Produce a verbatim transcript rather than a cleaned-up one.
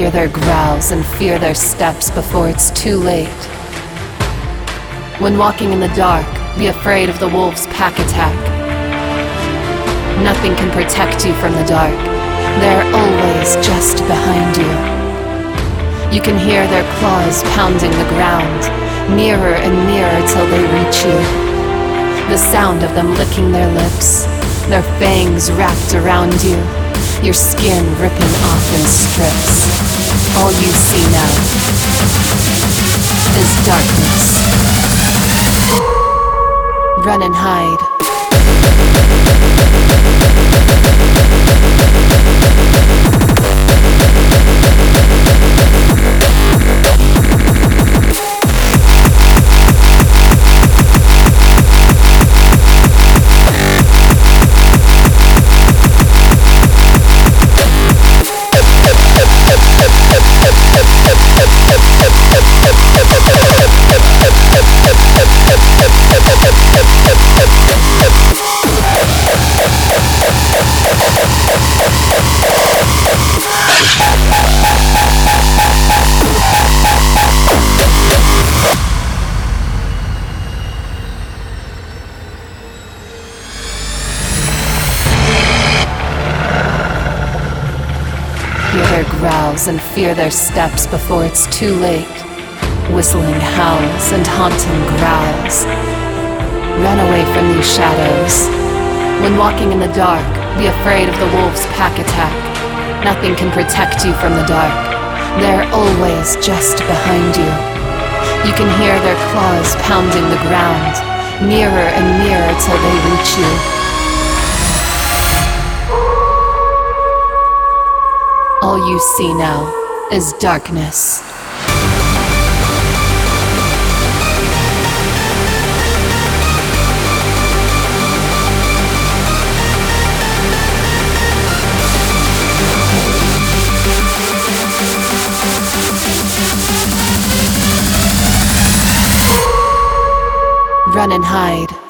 Hear their growls and fear their steps before it's too late. When walking in the dark, be afraid of the wolves' pack attack. Nothing can protect you from the dark. They're always just behind you. You can hear their claws pounding the ground, nearer and nearer till they reach you. The sound of them licking their lips, their fangs wrapped around you, your skin ripping off in strips. All you see now is darkness. Run and hide. Hear their growls and fear their steps before it's too late. Whistling howls and haunting growls. Run away from these shadows. When walking in the dark, be afraid of the wolves' pack attack. Nothing can protect you from the dark. They're always just behind you. You can hear their claws pounding the ground, nearer and nearer till they reach you. All you see now is darkness. Run and hide.